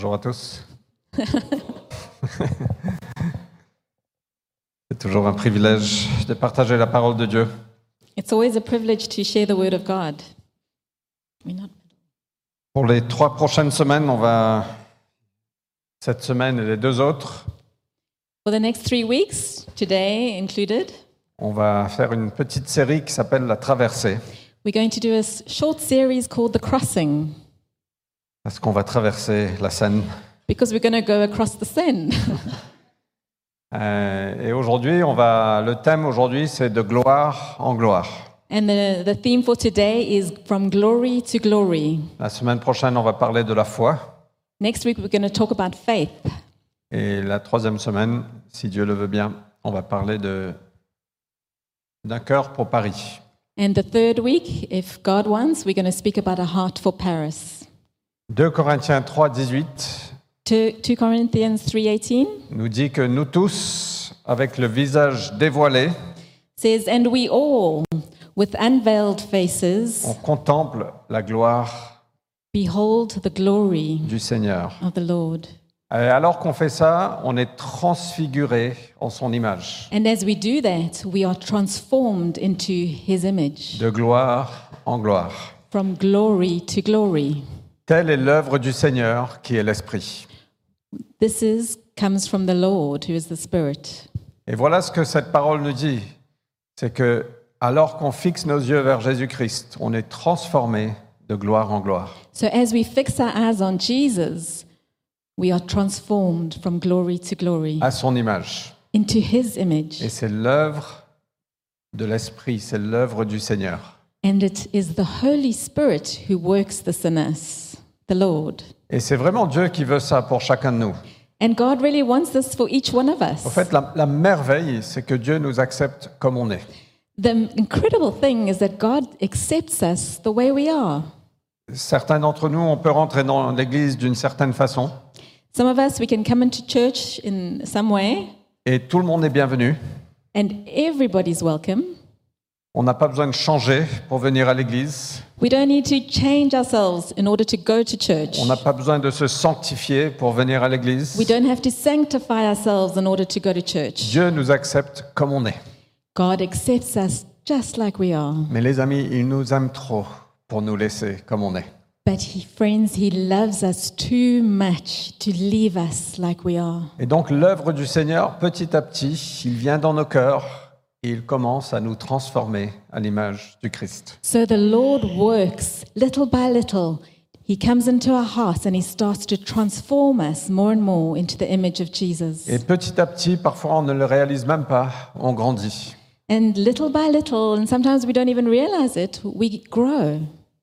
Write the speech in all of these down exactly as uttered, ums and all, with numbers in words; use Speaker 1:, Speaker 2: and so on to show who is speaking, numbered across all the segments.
Speaker 1: Bonjour à tous. C'est toujours un privilège de partager la parole de Dieu.
Speaker 2: It's always a privilege to share the word of God. We're not-
Speaker 1: Pour les trois prochaines semaines, on va, cette semaine et les deux autres,
Speaker 2: For the next three weeks, today included,
Speaker 1: on va faire une petite série qui s'appelle La Traversée,
Speaker 2: we're going to do a s- short series called The Crossing,
Speaker 1: parce qu'on va traverser la Seine.
Speaker 2: because we're going to go across the Seine.
Speaker 1: Euh, et aujourd'hui, on va, le thème aujourd'hui, c'est de gloire en gloire.
Speaker 2: And the, the theme for today is From Glory to Glory.
Speaker 1: La semaine prochaine, on va parler de la foi.
Speaker 2: Next week, we're going to talk about faith.
Speaker 1: Et la troisième semaine, si Dieu le veut bien, on va parler de, d'un cœur pour Paris.
Speaker 2: And the third week, if God wants, we're going to speak about a heart for Paris.
Speaker 1: deux Corinthiens trois, dix-huit
Speaker 2: Two two Corinthians three eighteen
Speaker 1: nous dit que nous tous, avec le visage dévoilé,
Speaker 2: says, And we all, with unveiled faces,
Speaker 1: on contemple la gloire
Speaker 2: behold the glory
Speaker 1: du Seigneur.
Speaker 2: of the Lord.
Speaker 1: Et alors qu'on fait ça, on est transfiguré en son image,
Speaker 2: And as we do that, we are transformed into his image,
Speaker 1: de gloire en gloire.
Speaker 2: from glory to glory.
Speaker 1: Telle est l'œuvre du Seigneur qui est l'Esprit.
Speaker 2: This is comes from the Lord, who is the Spirit.
Speaker 1: Et voilà ce que cette parole nous dit, c'est que alors qu'on fixe nos yeux vers Jésus-Christ, on est transformé de gloire en gloire.
Speaker 2: So as we fix our eyes on Jesus, we are transformed from glory to glory
Speaker 1: À son image.
Speaker 2: into his image.
Speaker 1: Et c'est l'œuvre de l'Esprit, c'est l'œuvre du Seigneur.
Speaker 2: And it is the Holy Spirit who works this in us, the Lord.
Speaker 1: Et c'est vraiment Dieu qui veut ça pour chacun de nous.
Speaker 2: And God really wants this for each one of
Speaker 1: En
Speaker 2: us.
Speaker 1: fait, la, la merveille, c'est que Dieu nous accepte comme on est.
Speaker 2: The incredible thing is that God accepts us the way we are.
Speaker 1: Certains d'entre nous, on peut rentrer dans l'église d'une certaine façon,
Speaker 2: Some of us, we can come into church in some way,
Speaker 1: et tout le monde est bienvenu.
Speaker 2: and everybody's welcome.
Speaker 1: On n'a pas besoin de changer pour venir à l'église.
Speaker 2: We don't need to change ourselves in order to go to church.
Speaker 1: On n'a pas besoin de se sanctifier pour venir à l'église.
Speaker 2: We don't have to sanctify ourselves in order to go to church.
Speaker 1: Dieu nous accepte comme on est.
Speaker 2: God accepts us just like we are.
Speaker 1: Mais les amis, il nous aime trop pour nous laisser comme on est.
Speaker 2: But he, friends, he loves us too much to leave us like we are.
Speaker 1: Et donc l'œuvre du Seigneur, petit à petit, il vient dans nos cœurs et il commence à nous transformer à l'image du Christ.
Speaker 2: So the Lord works little by little. He comes into our hearts and he starts to transform us more and more into the image of Jesus.
Speaker 1: Et petit à petit, parfois on ne le réalise même pas, on grandit.
Speaker 2: And little by little, and sometimes we don't even realize it, we grow.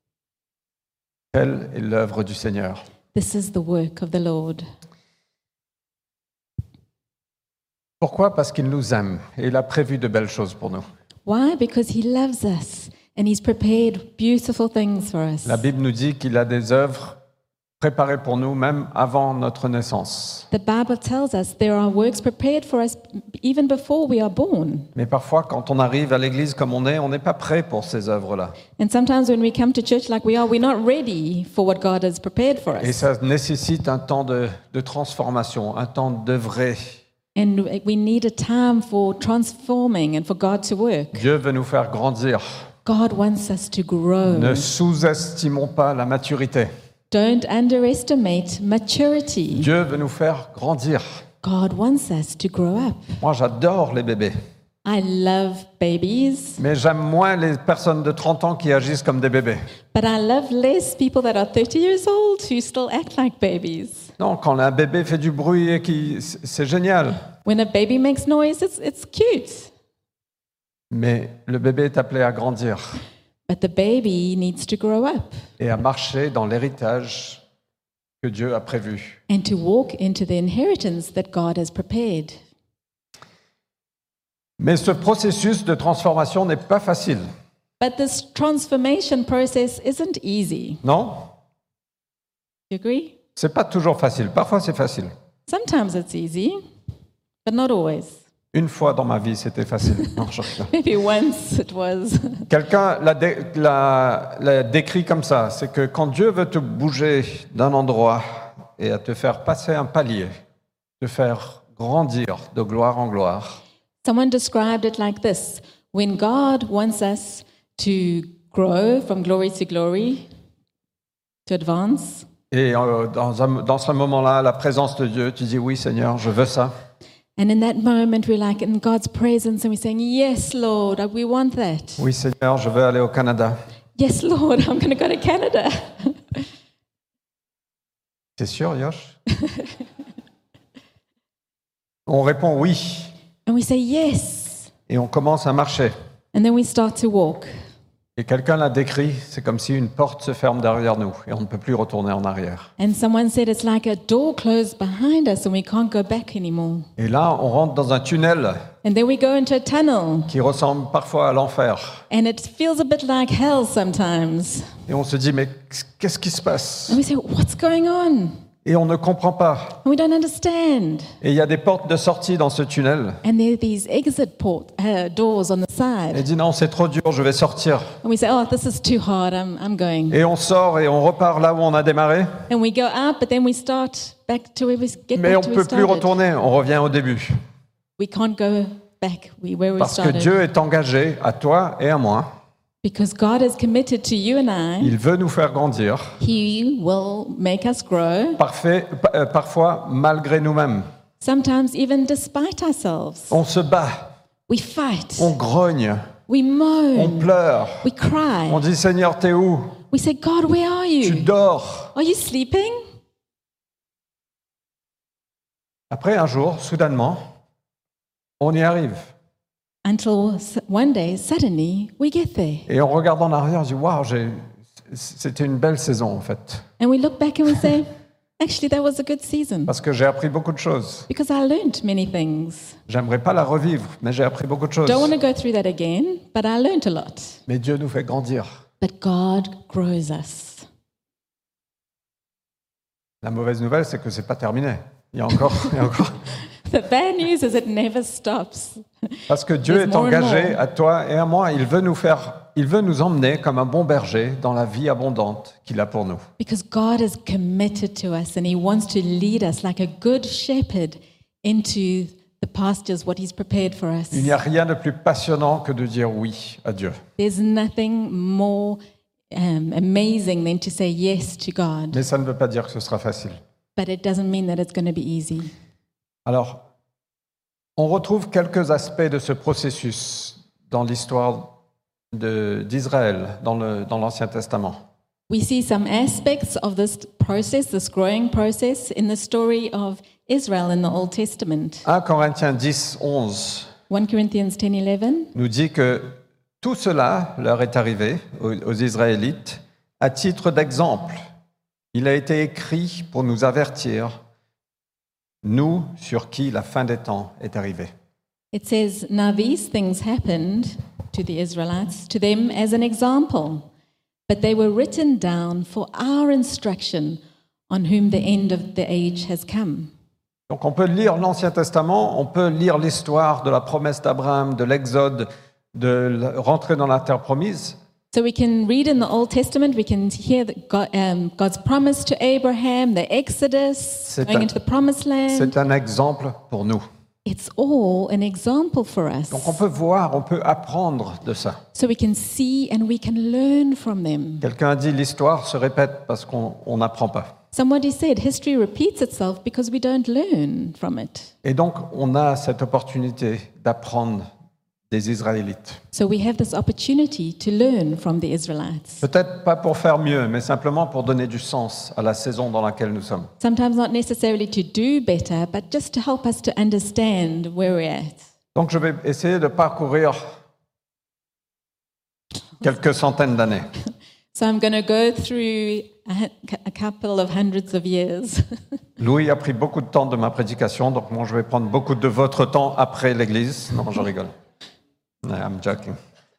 Speaker 1: Telle est l'œuvre du Seigneur.
Speaker 2: This is the work of the Lord.
Speaker 1: Pourquoi ? Parce qu'il nous aime et il a prévu de belles choses pour nous.
Speaker 2: Why? Because he loves us and he's prepared beautiful things for us.
Speaker 1: La Bible nous dit qu'il a des œuvres préparées pour nous même avant notre naissance.
Speaker 2: The Bible tells us there are works prepared for us even before we are born.
Speaker 1: Mais parfois, quand on arrive à l'église comme on est, on n'est pas prêt pour ces œuvres-là.
Speaker 2: And sometimes when we come to church like we are, we're not ready for what God has prepared for
Speaker 1: Et
Speaker 2: us.
Speaker 1: ça nécessite un temps de, de transformation, un temps d'œuvrer.
Speaker 2: And we need a time for transforming and for God to work.
Speaker 1: Dieu veut nous faire grandir.
Speaker 2: God wants us to grow.
Speaker 1: Ne sous-estimons pas la maturité.
Speaker 2: Don't underestimate maturity.
Speaker 1: Dieu veut nous faire grandir.
Speaker 2: God wants us to grow up.
Speaker 1: Moi, j'adore les bébés,
Speaker 2: I love babies,
Speaker 1: mais j'aime moins les personnes de trente ans qui agissent comme des bébés.
Speaker 2: but I love less people that are thirty years old who still act like babies.
Speaker 1: Non, quand un bébé fait du bruit, et qui, c'est génial.
Speaker 2: When a baby makes noise, it's, it's cute.
Speaker 1: Mais le bébé est appelé à grandir
Speaker 2: But the baby needs to grow up
Speaker 1: et à marcher dans l'héritage que Dieu a prévu.
Speaker 2: and to walk into the inheritance that God has prepared.
Speaker 1: Mais ce processus de transformation n'est pas facile,
Speaker 2: But this transformation process isn't easy.
Speaker 1: non ?
Speaker 2: You agree?
Speaker 1: C'est pas toujours facile. Parfois, c'est facile.
Speaker 2: Sometimes it's easy, but not always.
Speaker 1: Une fois dans ma vie, c'était facile. Non, je rigole.
Speaker 2: Maybe once it was.
Speaker 1: Quelqu'un l'a, dé- l'a- l'a décrit comme ça, c'est que quand Dieu veut te bouger d'un endroit et à te faire passer un palier, te faire grandir de gloire en gloire.
Speaker 2: Someone described it like this: when God wants us to grow from glory to glory, to advance,
Speaker 1: Et euh, dans, un, dans ce moment-là, la présence de Dieu, tu dis oui Seigneur, je veux ça.
Speaker 2: and in that moment we're like in God's presence and we're saying, yes, Lord, we want that.
Speaker 1: Oui Seigneur, je veux aller au Canada.
Speaker 2: Yes, Lord, I'm going to go to Canada.
Speaker 1: C'est sûr, Yosh? On répond oui,
Speaker 2: And we say yes.
Speaker 1: et on commence à marcher.
Speaker 2: And then we start to walk.
Speaker 1: Et quelqu'un l'a décrit, c'est comme si une porte se ferme derrière nous et on ne peut plus retourner en arrière.
Speaker 2: And someone said it's like a door closed behind us and we can't go back anymore.
Speaker 1: Et là, on rentre dans un tunnel
Speaker 2: And then we go into a tunnel
Speaker 1: qui ressemble parfois à l'enfer.
Speaker 2: and it feels a bit like hell sometimes.
Speaker 1: Et on se dit, mais qu'est-ce qui se passe?
Speaker 2: And we say, what's going on?
Speaker 1: Et on ne comprend pas.
Speaker 2: And we don't understand.
Speaker 1: Et il y a des portes de sortie dans ce tunnel.
Speaker 2: And there are these exit port, uh, doors on the
Speaker 1: Et
Speaker 2: side.
Speaker 1: dit, non, c'est trop dur, je vais sortir.
Speaker 2: And we say, oh, this is too hard, I'm, I'm going.
Speaker 1: Et on sort et on repart là où on a démarré.
Speaker 2: And we go up, but then we start back to where we get
Speaker 1: Mais on
Speaker 2: back
Speaker 1: ne
Speaker 2: to where
Speaker 1: peut
Speaker 2: we
Speaker 1: plus
Speaker 2: started.
Speaker 1: retourner, on revient au début.
Speaker 2: We can't go back we- where we
Speaker 1: Parce que
Speaker 2: started.
Speaker 1: Dieu est engagé à toi et à moi.
Speaker 2: Because God is committed to you and I.
Speaker 1: Il veut nous faire grandir,
Speaker 2: He will make us grow,
Speaker 1: parfait, pa- euh, parfois malgré nous-mêmes.
Speaker 2: sometimes even despite ourselves.
Speaker 1: On se bat,
Speaker 2: We fight,
Speaker 1: on grogne,
Speaker 2: we
Speaker 1: on
Speaker 2: moan,
Speaker 1: pleure.
Speaker 2: we cry.
Speaker 1: On dit, Seigneur, t'es où?
Speaker 2: We say, God, where are
Speaker 1: Tu
Speaker 2: you?
Speaker 1: dors.
Speaker 2: Are you sleeping?
Speaker 1: Après, un jour, soudainement, on y arrive.
Speaker 2: Until s- one day, suddenly, we get there.
Speaker 1: Et on regarde en arrière, on se dit, waouh, j'ai- c'était une belle saison en fait.
Speaker 2: And we look back and we say, actually, that was a good season.
Speaker 1: Parce que j'ai appris beaucoup de choses.
Speaker 2: Because I learned many things.
Speaker 1: J'aimerais pas la revivre, mais j'ai appris beaucoup de choses.
Speaker 2: Don't want to go through that again, but I learned a lot.
Speaker 1: Mais Dieu nous fait grandir.
Speaker 2: But God grows us.
Speaker 1: La mauvaise nouvelle, c'est que c'est pas terminé. Il y a encore, il y a encore.
Speaker 2: The bad news is it never stops.
Speaker 1: Parce que Dieu
Speaker 2: There's
Speaker 1: est
Speaker 2: more and
Speaker 1: engagé
Speaker 2: more.
Speaker 1: à toi et à moi. Il veut nous faire, il veut nous emmener comme un bon berger dans la vie abondante qu'il a pour nous.
Speaker 2: Because God is committed to us and He wants to lead us like a good shepherd into the pastures, what He's prepared for us.
Speaker 1: Il n'y a rien de plus passionnant que de dire oui à Dieu.
Speaker 2: There's nothing more um, amazing than to say yes to God.
Speaker 1: Mais ça ne veut pas dire que ce sera facile.
Speaker 2: But it doesn't mean that it's going to be easy.
Speaker 1: Alors, on retrouve quelques aspects de ce processus dans l'histoire de- d'Israël, dans le- dans l'Ancien Testament.
Speaker 2: We see some aspects of this process, this growing process, in the story of Israel in the Old Testament.
Speaker 1: un Corinthiens dix, onze
Speaker 2: First Corinthians ten eleven
Speaker 1: nous dit que tout cela leur est arrivé aux, aux Israélites à titre d'exemple. Il a été écrit pour nous avertir, nous sur qui la fin des temps est arrivée.
Speaker 2: It says, Now these things happened to the Israelites, to them as an example, but they were written down for our instruction, on whom the end of the age has come.
Speaker 1: Donc on peut lire l'Ancien Testament, on peut lire l'histoire de la promesse d'Abraham, de l'Exode, de la- rentrer dans la terre promise,
Speaker 2: So we can read in the Old Testament, we can hear that God, um, God's promise to Abraham, the Exodus,
Speaker 1: C'est
Speaker 2: going
Speaker 1: un-
Speaker 2: into the promised land.
Speaker 1: c'est un exemple pour nous.
Speaker 2: It's all an example for us.
Speaker 1: Donc on peut voir, on peut apprendre de ça.
Speaker 2: So we can see and we can learn from them.
Speaker 1: Quelqu'un a dit l'histoire se répète parce qu'on on n'apprend pas.
Speaker 2: Somebody said history repeats itself because we don't learn from it.
Speaker 1: Et donc on a cette opportunité d'apprendre des Israélites.
Speaker 2: So we have this opportunity to learn from the Israelites.
Speaker 1: Peut-être pas pour faire mieux, mais simplement pour donner du sens à la saison dans laquelle nous sommes.
Speaker 2: Sometimes not necessarily to do better, but just to help us to understand where we're at.
Speaker 1: Donc je vais essayer de parcourir quelques centaines d'années.
Speaker 2: So I'm going to go through a, hu- a couple of hundreds of years.
Speaker 1: Louis a pris beaucoup de temps de ma prédication, donc moi je vais prendre beaucoup de votre temps après l'église. Non, je rigole. I'm joking.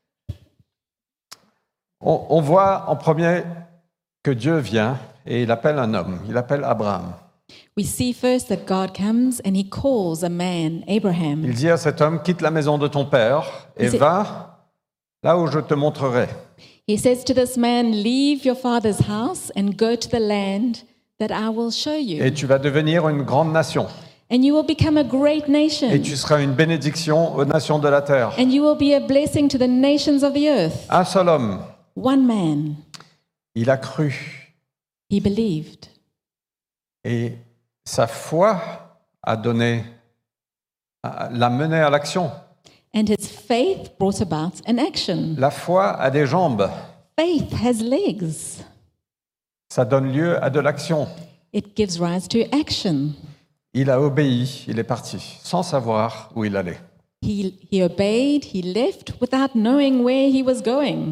Speaker 1: On, on voit en premier que Dieu vient et il appelle un homme, il appelle Abraham.
Speaker 2: We see first that God comes and he calls a man, Abraham.
Speaker 1: Il dit à cet homme, quitte la maison de ton père et
Speaker 2: C'est-
Speaker 1: va là où je te montrerai.
Speaker 2: He says to this man, leave your father's house and go to the land that I will show you.
Speaker 1: Et tu vas devenir une grande nation.
Speaker 2: And you will become a great nation.
Speaker 1: Et tu seras une bénédiction aux nations de la terre.
Speaker 2: And you will be a blessing to the nations of the earth.
Speaker 1: Un seul homme,
Speaker 2: One man,
Speaker 1: il a cru.
Speaker 2: he believed.
Speaker 1: Et sa foi a donné, l'a mené à l'action.
Speaker 2: And his faith brought about an action.
Speaker 1: La foi a des jambes.
Speaker 2: Faith has legs.
Speaker 1: Ça donne lieu à de l'action.
Speaker 2: It gives rise to action.
Speaker 1: Il a obéi, il est parti, sans savoir où il allait.
Speaker 2: He, he obeyed, he left without knowing where he was going.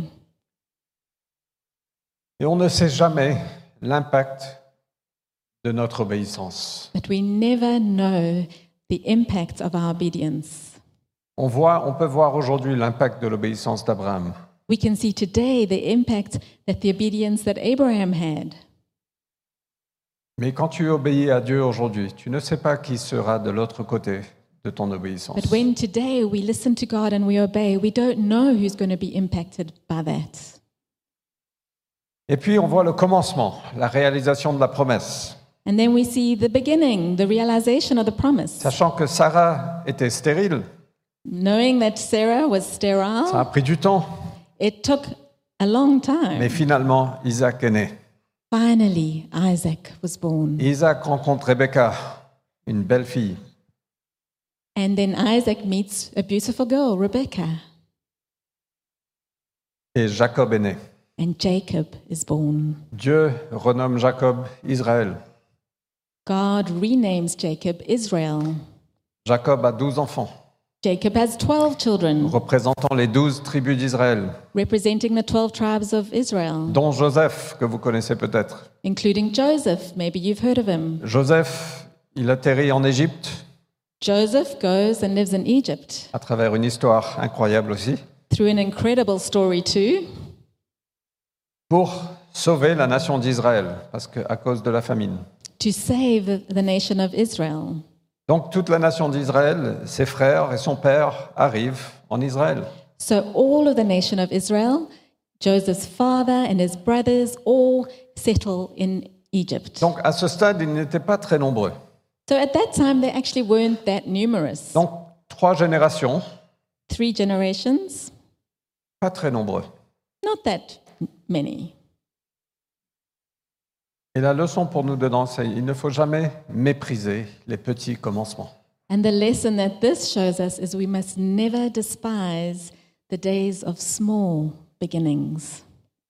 Speaker 1: Et on ne sait jamais l'impact de notre obéissance.
Speaker 2: But we never know the impact of our obedience.
Speaker 1: On voit, on peut voir aujourd'hui l'impact de l'obéissance d'Abraham.
Speaker 2: We can see today the impact that the obedience that Abraham had.
Speaker 1: Mais quand tu obéis à Dieu aujourd'hui, tu ne sais pas qui sera de l'autre côté de ton obéissance.
Speaker 2: But when today we listen to God and we obey, we don't know who's going to be impacted by that.
Speaker 1: Et puis on voit le commencement, la réalisation de la promesse.
Speaker 2: And then we see the beginning, the realization of the promise.
Speaker 1: Sachant que Sarah était stérile,
Speaker 2: Knowing that Sarah was
Speaker 1: ça a
Speaker 2: sterile,
Speaker 1: pris du temps,
Speaker 2: it took a long
Speaker 1: mais
Speaker 2: time.
Speaker 1: finalement Isaac est né.
Speaker 2: Finally, Isaac was born.
Speaker 1: Isaac rencontre Rebecca, une belle fille.
Speaker 2: And then Isaac meets a beautiful girl, Rebecca.
Speaker 1: Et Jacob est né.
Speaker 2: And Jacob is born.
Speaker 1: Dieu renomme Jacob Israël.
Speaker 2: God renames Jacob Israel.
Speaker 1: Jacob a douze enfants,
Speaker 2: Jacob has twelve children,
Speaker 1: représentant les douze tribus d'Israël,
Speaker 2: representing the twelve tribes of Israel,
Speaker 1: dont Joseph, que vous connaissez peut-être.
Speaker 2: including Joseph. Maybe you've heard of him.
Speaker 1: Joseph, il atterrit en Égypte,
Speaker 2: Joseph goes and lives in Egypt
Speaker 1: à travers une histoire incroyable aussi,
Speaker 2: through an incredible story too,
Speaker 1: pour sauver la nation d'Israël, parce que, à cause de la famine.
Speaker 2: to save the nation of Israel.
Speaker 1: Donc toute la nation d'Israël, ses frères et son père arrivent en Israël.
Speaker 2: So all of the nation of Israel, Joseph's father and his brothers, all settle in Egypt.
Speaker 1: Donc à ce stade, ils n'étaient pas très nombreux.
Speaker 2: So at that time, they actually weren't that numerous.
Speaker 1: Donc trois générations,
Speaker 2: Three generations,
Speaker 1: pas très nombreux.
Speaker 2: not that many.
Speaker 1: Et la leçon pour nous dedans, c'est qu'il ne faut jamais mépriser les petits commencements.
Speaker 2: And the lesson that this shows us is we must never despise the days of small beginnings.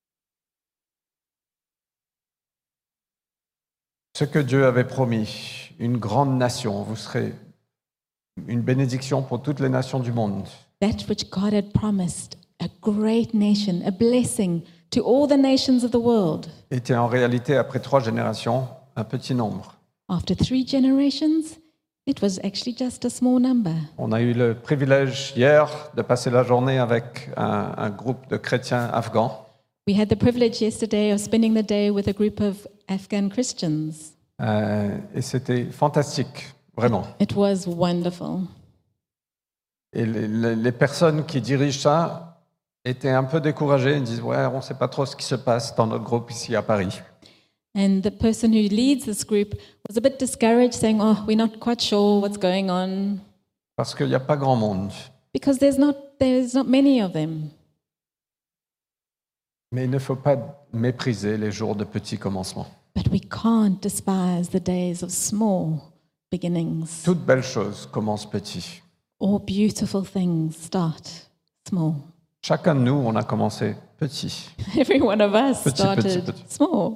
Speaker 1: Ce que Dieu avait promis, une grande nation, vous serez une bénédiction pour toutes les nations du monde.
Speaker 2: That which God had promised, a great nation, a blessing to all the nations of the world.
Speaker 1: Était en réalité, après trois générations, un petit nombre.
Speaker 2: After three generations, it was actually just a small number.
Speaker 1: On a eu le privilège hier de passer la journée avec un, un groupe de chrétiens afghans.
Speaker 2: We had the privilege yesterday of spending the day with a group of Afghan Christians.
Speaker 1: Euh, et c'était fantastique, vraiment.
Speaker 2: It was wonderful.
Speaker 1: Et les, les- les personnes qui dirigent ça étaient un peu découragées. Ils disent « Ouais, on ne sait pas trop ce qui se passe dans notre groupe ici à Paris.
Speaker 2: And the person who leads this group was a bit discouraged, saying, "Oh, we're not quite sure what's going on
Speaker 1: Parce qu'il n'y a pas grand monde.
Speaker 2: because there's not there's not many of them."
Speaker 1: Mais il ne faut pas mépriser les jours de petits commencements.
Speaker 2: But we can't despise the days of small beginnings.
Speaker 1: Toute belle chose commence petit.
Speaker 2: All beautiful things start small.
Speaker 1: Chacun de nous, on a commencé petit.
Speaker 2: Every one of us
Speaker 1: Petit,
Speaker 2: started
Speaker 1: petit, petit.
Speaker 2: small.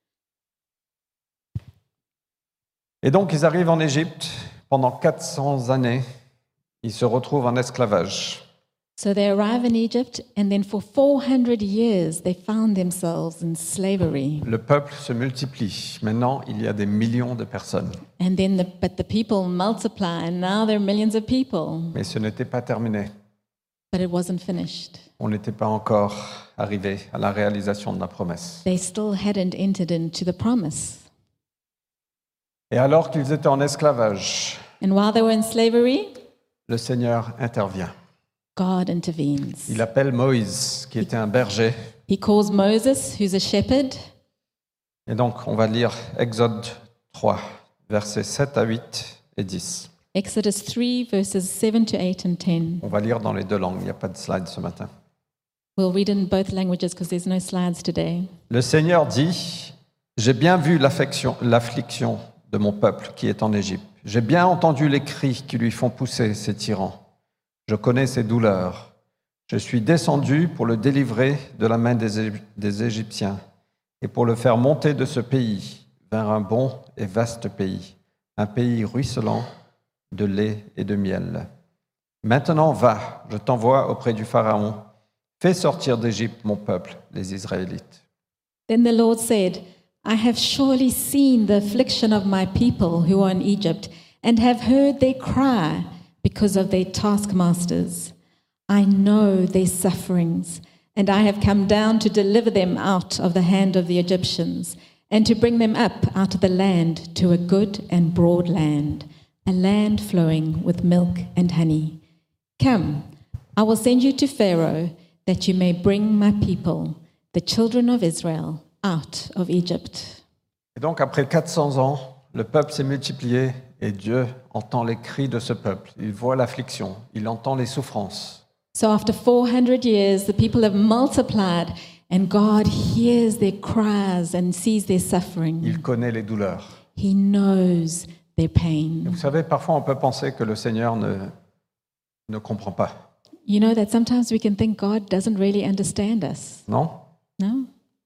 Speaker 1: Et donc, ils arrivent en Égypte. Pendant quatre cents années, ils se retrouvent en esclavage.
Speaker 2: So they arrive in Egypt, and then for four hundred years they found themselves in slavery.
Speaker 1: Le peuple se multiplie. Maintenant, il y a des millions de personnes.
Speaker 2: And then, the, but the people multiply, and now there are millions of people.
Speaker 1: Mais ce n'était pas terminé.
Speaker 2: But it wasn't finished.
Speaker 1: On n'était pas encore arrivé à la réalisation de la promesse.
Speaker 2: They still hadn't entered into the promise.
Speaker 1: Et alors qu'ils étaient en esclavage,
Speaker 2: And while they were in slavery,
Speaker 1: le Seigneur intervient.
Speaker 2: God intervenes.
Speaker 1: Il appelle Moïse, qui était un berger,
Speaker 2: He calls Moses, who's a shepherd,
Speaker 1: Et donc, on va lire Exode trois, versets sept à huit et dix.
Speaker 2: Exodus three, verses seven to eight and ten.
Speaker 1: On va lire dans les deux langues, il n'y a pas de slide ce matin.
Speaker 2: We'll read in both languages because there's no slides today.
Speaker 1: Le Seigneur dit, « J'ai bien vu l'affliction, l'affliction de mon peuple qui est en Égypte. J'ai bien entendu les cris qui lui font pousser ses tyrans. Je connais ses douleurs. Je suis descendu pour le délivrer de la main des, Égy- des Égyptiens et pour le faire monter de ce pays vers un bon et vaste pays, un pays ruisselant de lait et de miel. Maintenant, va, je t'envoie auprès du Pharaon. Fais sortir d'Égypte mon peuple, les Israélites. »
Speaker 2: Then the Lord said, I have surely seen the affliction of my people who are in Egypt, and have heard their cry because of their taskmasters. I know their sufferings, and I have come down to deliver them out of the hand of the Egyptians, and to bring them up out of the land to a good and broad land, a land flowing with milk and honey. Come, I will send you to Pharaoh, that you may bring my people, the children of Israel, out of Egypt.
Speaker 1: Et donc, après quatre cents ans, le peuple s'est multiplié et Dieu entend les cris de ce peuple. Il voit l'affliction, il entend les souffrances.
Speaker 2: So after four hundred years, the people have multiplied, and God hears their cries and sees their suffering.
Speaker 1: Il connaît les douleurs.
Speaker 2: He knows their
Speaker 1: Et
Speaker 2: pain.
Speaker 1: vous savez, parfois on peut penser que le Seigneur ne, ne comprend pas.
Speaker 2: You know that sometimes we can think God doesn't really understand us.
Speaker 1: Non?
Speaker 2: No?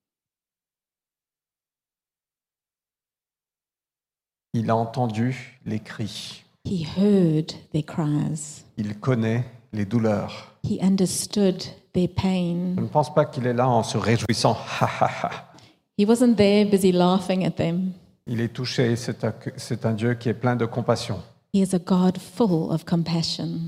Speaker 1: Il a entendu les cris.
Speaker 2: He heard their cries.
Speaker 1: Il connaît les douleurs.
Speaker 2: He understood their
Speaker 1: Je
Speaker 2: pain.
Speaker 1: ne pense pas qu'il est là en se réjouissant. Ha, ha, ha.
Speaker 2: He wasn't there busy laughing at them.
Speaker 1: Il est touché, c'est un, c'est un Dieu qui est plein de compassion.
Speaker 2: He is a God full of compassion.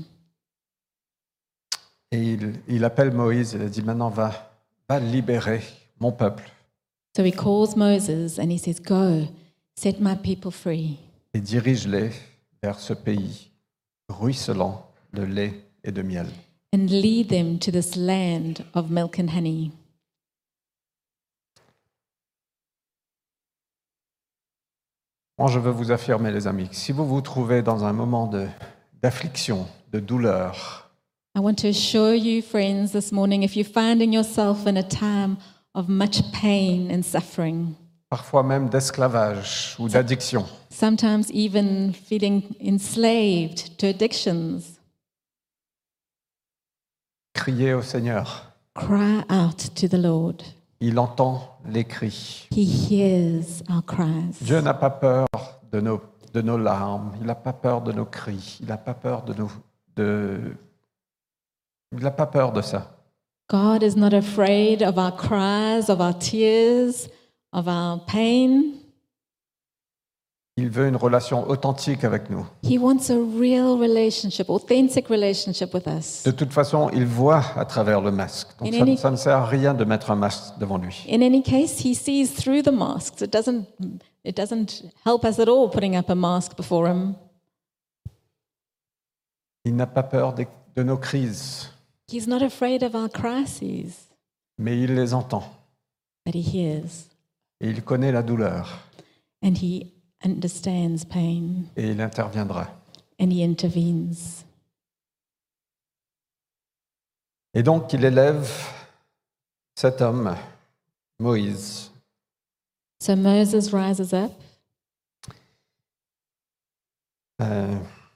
Speaker 1: Et il, il appelle Moïse, il a dit, maintenant va, va libérer mon peuple
Speaker 2: So he calls Moses and he says, Go, set my people free,
Speaker 1: et dirige-les vers ce pays ruisselant de lait et de miel.
Speaker 2: and lead them to this land of milk and honey.
Speaker 1: Moi, je veux vous affirmer, les amis, que si vous vous trouvez dans un moment de, d'affliction, de douleur,
Speaker 2: I want to assure you, friends, this morning, if you're finding yourself in a time of much pain and suffering,
Speaker 1: parfois même d'esclavage ou d'addiction,
Speaker 2: sometimes even feeling enslaved to addictions,
Speaker 1: criez au Seigneur.
Speaker 2: cry out to the Lord.
Speaker 1: Il entend les cris.
Speaker 2: He hears our cries.
Speaker 1: Dieu n'a pas peur de nos, de nos larmes, il n'a pas peur de nos cris, il n'a pas peur de nos... De... Il n'a pas peur de ça.
Speaker 2: God is not afraid of our cries, of our tears, of our pain.
Speaker 1: Il veut une relation authentique avec nous.
Speaker 2: He wants a real relationship, authentic relationship with us.
Speaker 1: De toute façon, il voit à travers le masque. Donc
Speaker 2: In
Speaker 1: ça,
Speaker 2: any-
Speaker 1: ça ne sert à rien de mettre un masque devant lui.
Speaker 2: In any case, he sees through the masks. It doesn't, it doesn't help us at all putting up a mask before him.
Speaker 1: Il n'a pas peur de, de nos crises,
Speaker 2: He's not afraid of our crises,
Speaker 1: mais il les entend.
Speaker 2: but he hears
Speaker 1: Et il connaît la douleur.
Speaker 2: and he understands pain
Speaker 1: Et il interviendra.
Speaker 2: and he intervenes.
Speaker 1: Et donc, il élève cet homme, Moïse.
Speaker 2: So Moses rises up.
Speaker 1: Euh,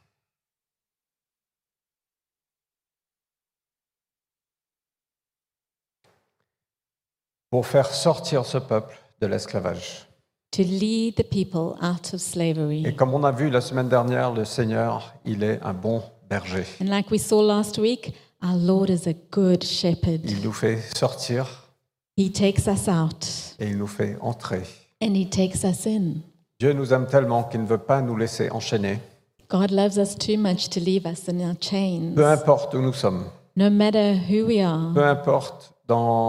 Speaker 1: pour faire sortir ce peuple de l'esclavage.
Speaker 2: To lead the people out of
Speaker 1: Et
Speaker 2: slavery.
Speaker 1: comme on a vu la semaine dernière, le Seigneur, il est un bon berger.
Speaker 2: And like we saw last week, our Lord is a good shepherd.
Speaker 1: Il nous fait sortir
Speaker 2: He takes us out
Speaker 1: et il nous fait entrer.
Speaker 2: and he takes us in.
Speaker 1: Dieu nous aime tellement qu'il ne veut pas nous laisser enchaîner,
Speaker 2: God loves us too much to leave us in our chains.
Speaker 1: peu importe où nous sommes,
Speaker 2: No matter who we are,
Speaker 1: peu importe dans,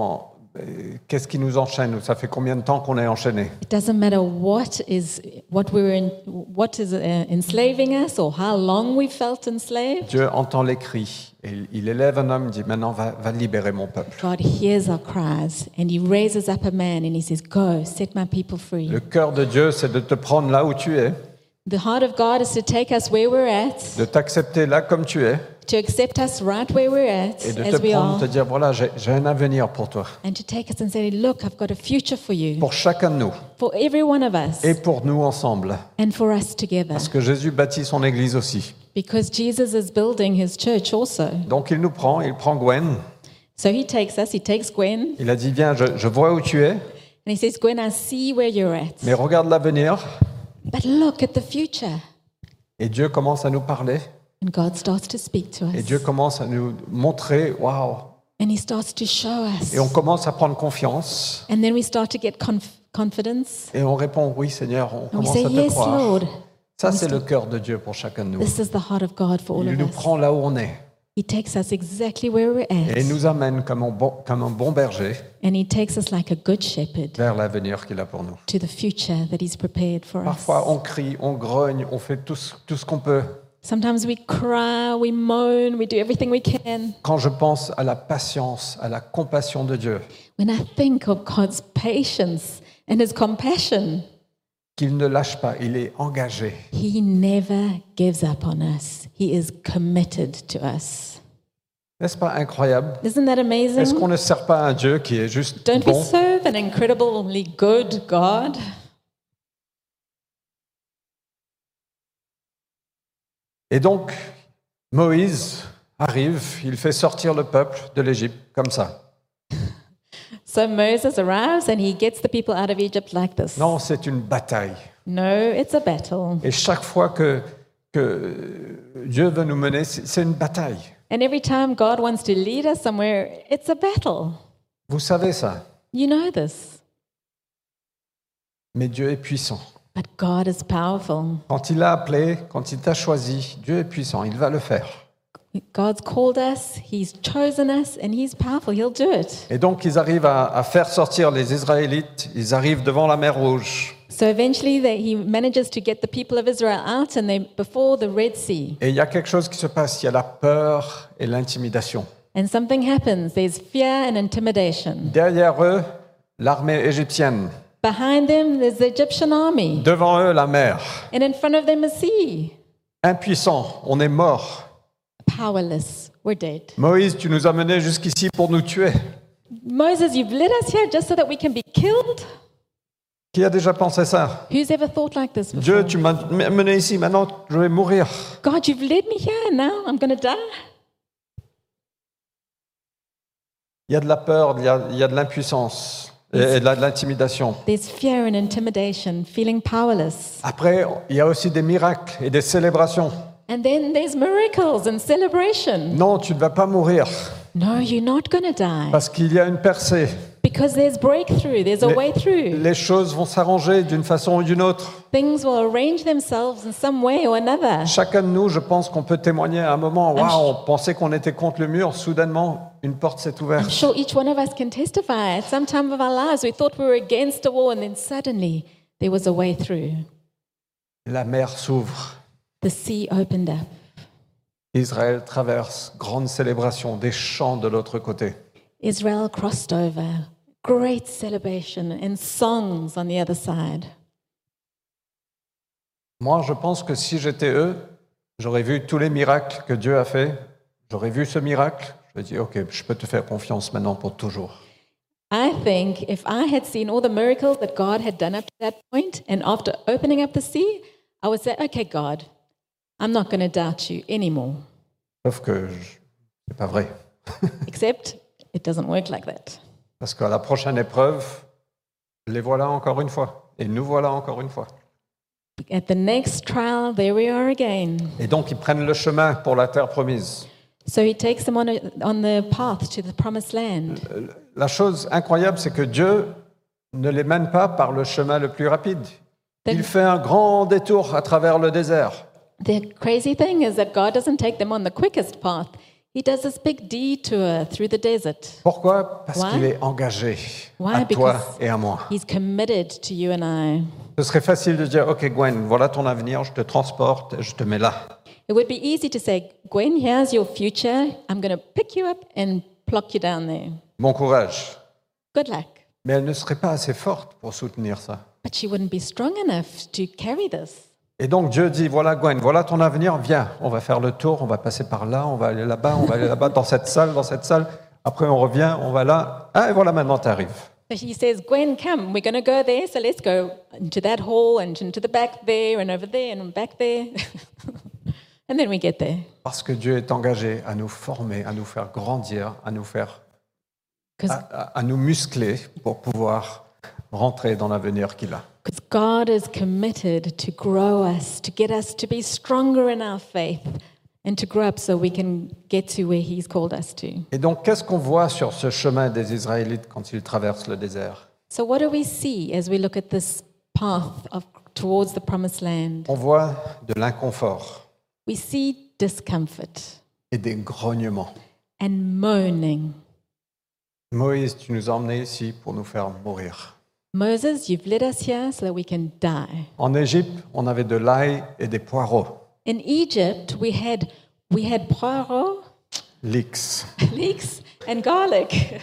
Speaker 1: qu'est-ce qui nous enchaîne? Ça fait combien de temps qu'on est enchaîné?
Speaker 2: It doesn't matter what is what we're in, what is uh, enslaving us or how long we felt enslaved.
Speaker 1: Dieu entend les cris et il élève un homme, dit maintenant va, va libérer mon peuple.
Speaker 2: God hears our cries and he raises up a man and he says, "Go, set my people free."
Speaker 1: Le cœur de Dieu, c'est de te prendre là où tu es,
Speaker 2: The heart of God is to take us where we're at,
Speaker 1: de t'accepter là comme tu es
Speaker 2: to accept us right where we're at
Speaker 1: et de te
Speaker 2: as we
Speaker 1: prendre,
Speaker 2: are,
Speaker 1: te dire voilà, j'ai, j'ai un avenir pour toi,
Speaker 2: and to take us and say, "Look, I've got a future for you,
Speaker 1: pour chacun de nous
Speaker 2: for every one of us,
Speaker 1: et pour nous ensemble.
Speaker 2: and for us together."
Speaker 1: Parce que Jésus bâtit son église aussi.
Speaker 2: Because Jesus is building his church also.
Speaker 1: Donc il nous prend, il prend Gwen,
Speaker 2: So he takes us, he takes Gwen,
Speaker 1: il a dit viens, je, je vois où tu es,
Speaker 2: and he says, "Gwen, I see where you're at,
Speaker 1: mais regarde l'avenir.
Speaker 2: but look at the future."
Speaker 1: Et Dieu commence à nous parler.
Speaker 2: And God starts to speak to
Speaker 1: Et
Speaker 2: us.
Speaker 1: Dieu commence à nous montrer, waouh.
Speaker 2: And he starts to show us.
Speaker 1: Et on commence à prendre confiance.
Speaker 2: And then we start to get conf- confidence.
Speaker 1: Et on répond, oui Seigneur, on
Speaker 2: And we
Speaker 1: commence
Speaker 2: say,
Speaker 1: à te
Speaker 2: "Yes,
Speaker 1: croire.
Speaker 2: Lord."
Speaker 1: Ça, c'est le cœur de Dieu pour chacun de nous.
Speaker 2: This is the heart of God for all
Speaker 1: Il
Speaker 2: of
Speaker 1: nous
Speaker 2: us.
Speaker 1: prend là où on est.
Speaker 2: He takes us exactly where we're
Speaker 1: Et
Speaker 2: at.
Speaker 1: il nous amène comme un bon, comme un bon berger
Speaker 2: And he takes us like a good shepherd
Speaker 1: vers l'avenir qu'il a pour nous.
Speaker 2: to the future that he's prepared for us.
Speaker 1: Parfois, on crie, on grogne, on fait tout ce, tout ce qu'on peut.
Speaker 2: Sometimes we cry, we moan, we do everything we can.
Speaker 1: Quand je pense à la patience, à la compassion de Dieu,
Speaker 2: When I think of God's patience and his compassion,
Speaker 1: qu'il ne lâche pas, il est engagé.
Speaker 2: he never gives up on us. He is committed to us.
Speaker 1: N'est-ce pas incroyable?
Speaker 2: Isn't that amazing?
Speaker 1: Est-ce qu'on ne sert pas un Dieu qui est juste
Speaker 2: Don't we
Speaker 1: bon?
Speaker 2: serve an incredibly good God?
Speaker 1: Et donc, Moïse arrive, il fait sortir le peuple de l'Égypte comme ça.
Speaker 2: So Moses arrives and he gets the people out of Egypt like this.
Speaker 1: Non, c'est une bataille.
Speaker 2: No, it's a battle.
Speaker 1: Et chaque fois que, que Dieu veut nous mener, c'est c'est une bataille.
Speaker 2: And every time God wants to lead us somewhere, it's a battle.
Speaker 1: Vous savez ça.
Speaker 2: You know this.
Speaker 1: Mais Dieu est puissant.
Speaker 2: But God is powerful.
Speaker 1: Quand il a appelé, quand il t'a choisi, Dieu est puissant, il va le faire.
Speaker 2: God's called us, he's chosen us, and he's powerful. He'll do it.
Speaker 1: Et donc, ils arrivent à, à faire sortir les Israélites, ils arrivent devant la mer Rouge.
Speaker 2: So eventually they, he manages to get the people of Israel out and they're before the Red Sea.
Speaker 1: Et il y a quelque chose qui se passe, il y a la peur et l'intimidation.
Speaker 2: And something happens. There's fear and intimidation.
Speaker 1: Derrière eux, l'armée égyptienne.
Speaker 2: Behind them, there's the Egyptian army.
Speaker 1: Devant eux, la mer.
Speaker 2: And in front of them, a sea.
Speaker 1: Impuissant, on est mort.
Speaker 2: Powerless. We're dead.
Speaker 1: Moïse, tu nous as menés jusqu'ici pour nous tuer.
Speaker 2: Moses, you've led us here just so that we can be killed?
Speaker 1: Qui a déjà pensé ça?
Speaker 2: Who's ever thought like this before?
Speaker 1: Dieu, tu m'as mené ici, maintenant je vais mourir.
Speaker 2: God, you've led me here, now I'm going to die.
Speaker 1: Il y a de la peur, il y a, il y a de l'impuissance et, et de la- de l'intimidation.
Speaker 2: There's fear and intimidation, feeling powerless.
Speaker 1: Après, il y a aussi des miracles et des célébrations.
Speaker 2: And then there's miracles and celebration.
Speaker 1: Non, tu ne vas pas mourir
Speaker 2: No, you're not going to die.
Speaker 1: parce qu'il y a une percée.
Speaker 2: Because there's breakthrough, there's a
Speaker 1: Les-
Speaker 2: way through.
Speaker 1: Les choses vont s'arranger d'une façon ou d'une autre.
Speaker 2: Things will arrange themselves in some way or another.
Speaker 1: Chacun de nous, je pense qu'on peut témoigner à un moment,
Speaker 2: I'm
Speaker 1: waouh, on pensait qu'on était contre le mur, soudainement, une porte s'est
Speaker 2: I'm
Speaker 1: ouverte.
Speaker 2: sure each one of us can testify. At some time of our lives, we thought we were against a wall, and then suddenly there was a way through.
Speaker 1: La mer s'ouvre.
Speaker 2: The sea opened up.
Speaker 1: Israël traverse, grande célébration, des chants de l'autre côté.
Speaker 2: Israel crossed over. Great celebration and songs on the other side.
Speaker 1: Moi, je pense que si j'étais eux, j'aurais vu tous les miracles que Dieu a fait. J'aurais vu ce miracle. Je me dis, OK, je peux te faire confiance maintenant pour toujours.
Speaker 2: I think if I had seen all the miracles that God had done up to that point, and after opening up the sea, I would say, okay, God, I'm not going to doubt you anymore.
Speaker 1: Sauf que je- c'est pas vrai.
Speaker 2: Except it doesn't work like that.
Speaker 1: Parce qu'à la prochaine épreuve, les voilà encore une fois. Et nous voilà encore une fois.
Speaker 2: At the next trial, there we are again.
Speaker 1: Et donc, ils prennent le chemin pour la terre promise.
Speaker 2: So he takes them on, a, on the path to the promised land.
Speaker 1: La chose incroyable, c'est que Dieu ne les mène pas par le chemin le plus rapide. Il fait un grand détour à travers le désert.
Speaker 2: The crazy thing is that God doesn't take them on the quickest path. He does this big detour through the desert.
Speaker 1: Pourquoi? Parce
Speaker 2: Why?
Speaker 1: qu'il est engagé
Speaker 2: Why?
Speaker 1: à toi
Speaker 2: Because
Speaker 1: et à moi.
Speaker 2: He's committed to you and I.
Speaker 1: Ce serait facile de dire, OK Gwen, voilà ton avenir, je te transporte, je te mets là.
Speaker 2: It would be easy to say, Gwen, here's your future. I'm going to pick you up and plop you down there.
Speaker 1: Bon courage.
Speaker 2: Good luck.
Speaker 1: Mais elle ne serait pas assez forte pour soutenir ça.
Speaker 2: But she wouldn't be strong enough to carry this.
Speaker 1: Et donc Dieu dit, voilà Gwen, voilà ton avenir, viens, on va faire le tour, on va passer par là, on va aller là-bas, on va aller là-bas, dans cette salle, dans cette salle. Après on revient, on va là. Ah, et voilà, maintenant tu arrives.
Speaker 2: So he says, Gwen, come, we're going to go there, so let's go into that hall and into the back there and over there and back there. And then we get there.
Speaker 1: Parce que Dieu est engagé à nous former, à nous faire grandir, à nous faire, à, à- à nous muscler pour pouvoir rentrer dans l'avenir qu'il a.
Speaker 2: Because God is committed to grow us, to get us to be stronger in our faith and to grow up so we can get to where He's called us to.
Speaker 1: Et donc, qu'est-ce qu'on voit sur ce chemin des Israélites quand ils traversent le désert?
Speaker 2: So, what do we see as we look at this path of, towards the promised land?
Speaker 1: On voit de l'inconfort
Speaker 2: We see discomfort
Speaker 1: et des grognements.
Speaker 2: and moaning.
Speaker 1: Moïse, tu nous as emmenés ici pour nous faire mourir.
Speaker 2: Moses, you've led us here so that we can die.
Speaker 1: En Égypte, on avait de l'ail et des poireaux.
Speaker 2: In Egypt, we had we had poireaux,
Speaker 1: L'X.
Speaker 2: leeks, and garlic.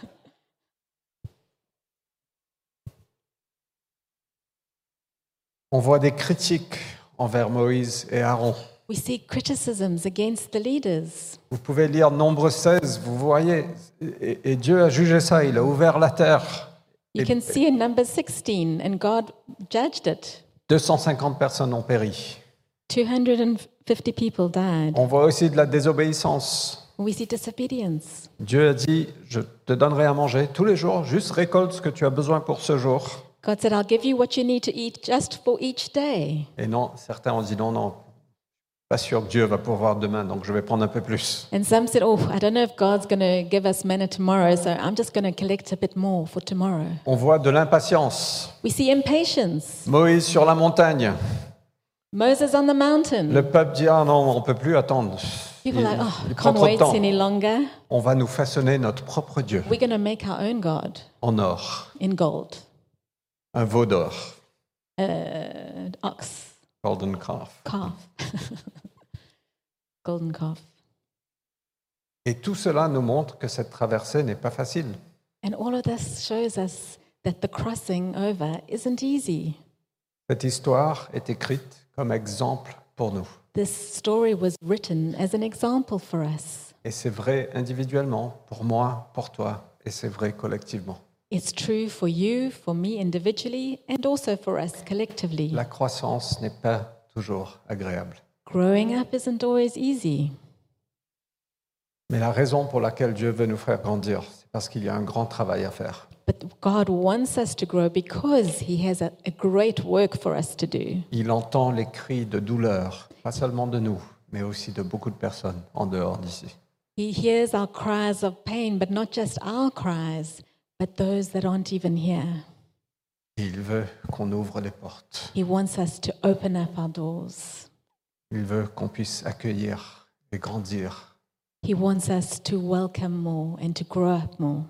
Speaker 1: On voit des critiques envers Moïse et Aaron.
Speaker 2: We see criticisms against the leaders.
Speaker 1: Vous pouvez lire Nombre seize, vous voyez, et, et Dieu a jugé ça, il a ouvert la terre.
Speaker 2: You
Speaker 1: Et
Speaker 2: can see in number sixteen, and God judged it.
Speaker 1: deux cent cinquante personnes ont péri.
Speaker 2: two hundred fifty people died.
Speaker 1: On voit aussi de la désobéissance.
Speaker 2: We see disobedience.
Speaker 1: Dieu a dit, je te donnerai à manger tous les jours, juste récolte ce que tu as besoin pour ce jour.
Speaker 2: God said, I'll give you what you need to eat just for each day.
Speaker 1: Et non, certains ont dit non, non, pas sûr que Dieu va pourvoir demain, donc je vais prendre un peu plus.
Speaker 2: And some said, oh, I don't know if God's going to give us manna tomorrow, so I'm just going to collect a bit more for tomorrow.
Speaker 1: On voit de l'impatience.
Speaker 2: We see impatience.
Speaker 1: Moïse sur la montagne.
Speaker 2: Moses on the mountain.
Speaker 1: Le peuple dit, ah non, on ne peut plus attendre. Il,
Speaker 2: People are like, oh,
Speaker 1: il prend
Speaker 2: can't
Speaker 1: trop de
Speaker 2: wait
Speaker 1: temps.
Speaker 2: any longer.
Speaker 1: On va nous façonner notre propre Dieu
Speaker 2: We're going to make our own God
Speaker 1: en or,
Speaker 2: in gold.
Speaker 1: un veau d'or,
Speaker 2: Uh, ox,
Speaker 1: golden calf.
Speaker 2: calf. Golden calf.
Speaker 1: Et tout cela nous montre que cette traversée n'est pas facile.
Speaker 2: And all of this shows us that the crossing over isn't easy.
Speaker 1: Cette histoire est écrite comme exemple pour nous.
Speaker 2: This story was written as an example for us.
Speaker 1: Et c'est vrai individuellement, pour moi, pour toi, et c'est vrai collectivement.
Speaker 2: It's true for you, for me individually, and also for us collectively.
Speaker 1: La croissance n'est pas toujours agréable.
Speaker 2: Growing up isn't always easy.
Speaker 1: Mais la raison pour laquelle Dieu veut nous faire grandir, c'est parce qu'il y a un grand travail à faire.
Speaker 2: But God wants us to grow because He has a, a great work for us to do.
Speaker 1: Il entend les cris de douleur, pas seulement de nous, mais aussi de beaucoup de personnes en dehors d'ici.
Speaker 2: He hears our cries of pain, but not just our cries, but those that aren't even here.
Speaker 1: Et il veut qu'on ouvre les portes.
Speaker 2: He wants us to open up our doors.
Speaker 1: Il veut qu'on puisse accueillir et grandir.
Speaker 2: He wants us to welcome more and to grow up more.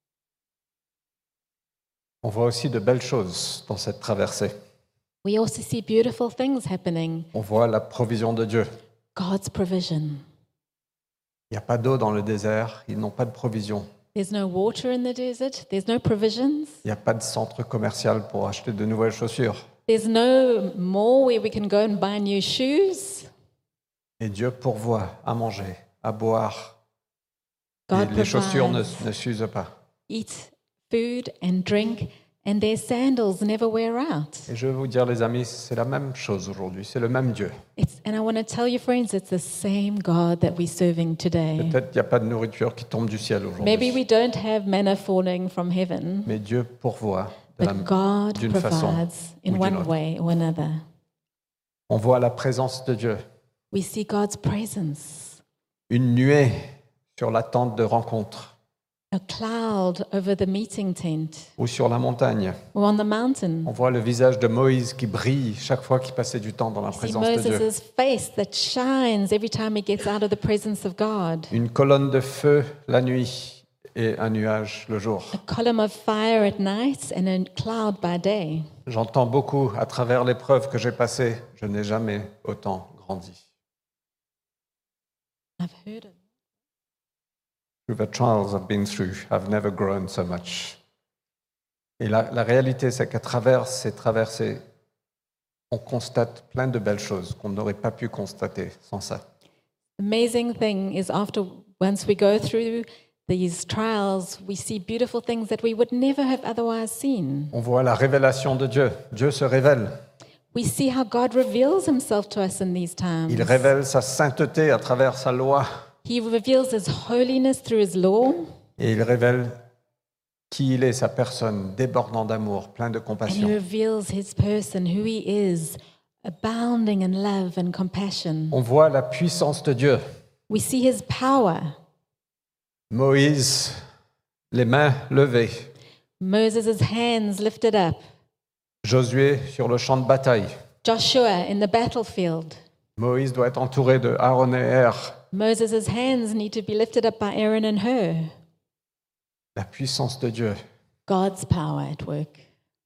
Speaker 1: On voit aussi de belles choses dans cette traversée.
Speaker 2: We also see beautiful things happening.
Speaker 1: On voit la provision de Dieu.
Speaker 2: God's provision.
Speaker 1: Il n'y a pas d'eau dans le désert, ils n'ont pas de provision.
Speaker 2: There's no water in the desert. There's no provisions.
Speaker 1: Il n'y a pas de centre commercial pour acheter de nouvelles chaussures.
Speaker 2: There's no mall where we can go and buy new shoes.
Speaker 1: Et Dieu pourvoit à manger, à boire.
Speaker 2: God
Speaker 1: Et les chaussures ne,
Speaker 2: provides,
Speaker 1: ne s'usent pas.
Speaker 2: eat food and drink, and their sandals never wear out.
Speaker 1: Et je vais vous dire, les amis, c'est la même chose aujourd'hui. C'est le même Dieu.
Speaker 2: It's, and I want to tell you, friends, it's the same God that we're serving today.
Speaker 1: Peut-être qu'il n'y a pas de nourriture qui tombe du ciel
Speaker 2: Maybe
Speaker 1: aujourd'hui.
Speaker 2: we don't have manna falling from heaven,
Speaker 1: Mais Dieu pourvoit de la-
Speaker 2: but God
Speaker 1: d'une façon
Speaker 2: provides in
Speaker 1: ou d'une
Speaker 2: one
Speaker 1: autre.
Speaker 2: way or another.
Speaker 1: On voit la présence de Dieu.
Speaker 2: We see God's presence,
Speaker 1: Une nuée sur la tente de rencontre.
Speaker 2: a cloud over the meeting tent
Speaker 1: ou sur la montagne.
Speaker 2: or on the mountain.
Speaker 1: On voit le visage de Moïse qui brille chaque fois qu'il passait du temps dans la
Speaker 2: See
Speaker 1: présence de Dieu.
Speaker 2: Moses' face that shines every time he gets out of the presence of God.
Speaker 1: Une colonne de feu la nuit et un nuage le jour.
Speaker 2: A column of fire at night and a cloud by day.
Speaker 1: J'entends beaucoup à travers l'épreuve que j'ai passée, je n'ai jamais autant grandi.
Speaker 2: I've heard it.
Speaker 1: Through the trials I've been through, I've never grown so much. Et la, la réalité, c'est qu'à travers ces traversées, on constate plein de belles choses qu'on n'aurait pas pu constater sans ça.
Speaker 2: Amazing thing is after once we go through these trials, we see beautiful things that we would never have otherwise seen.
Speaker 1: On voit la révélation de Dieu. Dieu se révèle.
Speaker 2: We see how God reveals himself to us in these times.
Speaker 1: Il révèle sa sainteté à travers sa loi.
Speaker 2: He reveals his holiness through his law,
Speaker 1: Et il révèle qui il est, sa personne, débordant d'amour, plein de
Speaker 2: and he
Speaker 1: compassion.
Speaker 2: reveals his person, who he is, abounding in love and compassion.
Speaker 1: On voit la puissance de Dieu.
Speaker 2: We see his power.
Speaker 1: Moïse, les mains levées.
Speaker 2: Moses' hands lifted up.
Speaker 1: Josué sur le champ de bataille.
Speaker 2: Joshua in the battlefield.
Speaker 1: Moïse doit être entouré de Aaron et Er.
Speaker 2: Moses' hands need to be lifted up by Aaron and Hur.
Speaker 1: La puissance de Dieu.
Speaker 2: God's power at work.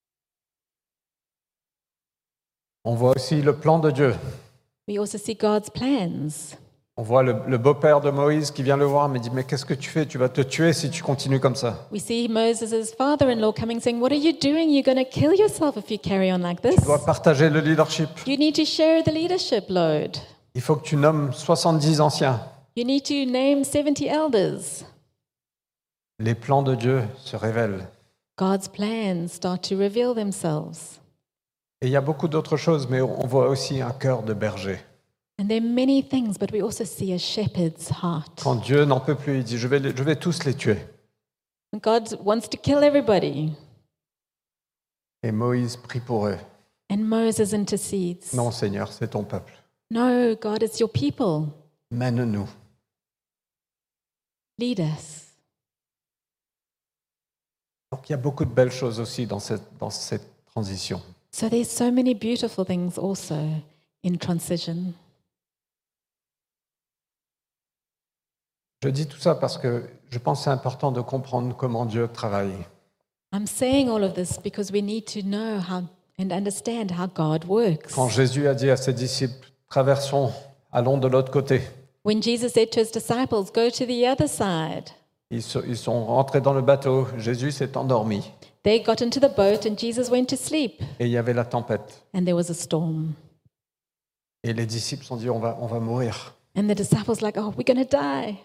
Speaker 1: On voit aussi le plan de Dieu.
Speaker 2: We also see God's plans.
Speaker 1: On voit le, le beau-père de Moïse qui vient le voir, mais dit, mais qu'est-ce que tu fais? Tu vas te tuer si tu continues comme ça.
Speaker 2: We see Moses' father-in-law coming saying, "What are you doing? You're going to kill yourself if you carry on like this.
Speaker 1: Tu dois partager le leadership.
Speaker 2: You need to share the leadership load.
Speaker 1: Il faut que tu nommes soixante-dix anciens.
Speaker 2: You need to name seventy elders."
Speaker 1: Les plans de Dieu se révèlent.
Speaker 2: God's plans start to reveal themselves.
Speaker 1: Et il y a beaucoup d'autres choses, mais on voit aussi un cœur de berger.
Speaker 2: And there are many things, but we also see a shepherd's heart.
Speaker 1: Quand Dieu n'en peut plus, il dit, je vais, les- je vais tous les tuer.
Speaker 2: And God wants to kill everybody.
Speaker 1: Et Moïse prie pour eux.
Speaker 2: And Moses intercedes.
Speaker 1: Non, Seigneur, c'est ton peuple.
Speaker 2: No, God, it's your people.
Speaker 1: Mène-nous.
Speaker 2: Lead us.
Speaker 1: Donc il y a beaucoup de belles choses aussi dans cette, dans cette transition.
Speaker 2: So there's so many beautiful things also in transition.
Speaker 1: Je dis tout ça parce que je pense que c'est important de comprendre comment Dieu travaille.
Speaker 2: I'm saying all of this because we need to know how and understand how God works.
Speaker 1: Quand Jésus a dit à ses disciples, traversons, allons de l'autre côté,
Speaker 2: When Jesus said to his disciples, "Go to the other side,"
Speaker 1: ils, so- ils sont rentrés dans le bateau, Jésus s'est endormi
Speaker 2: they got into the boat and Jesus went to sleep,
Speaker 1: et il y avait la tempête.
Speaker 2: and there was a storm.
Speaker 1: Et les disciples se sont dit, on va, on va mourir.
Speaker 2: And the disciples like, "Oh, we're going to die."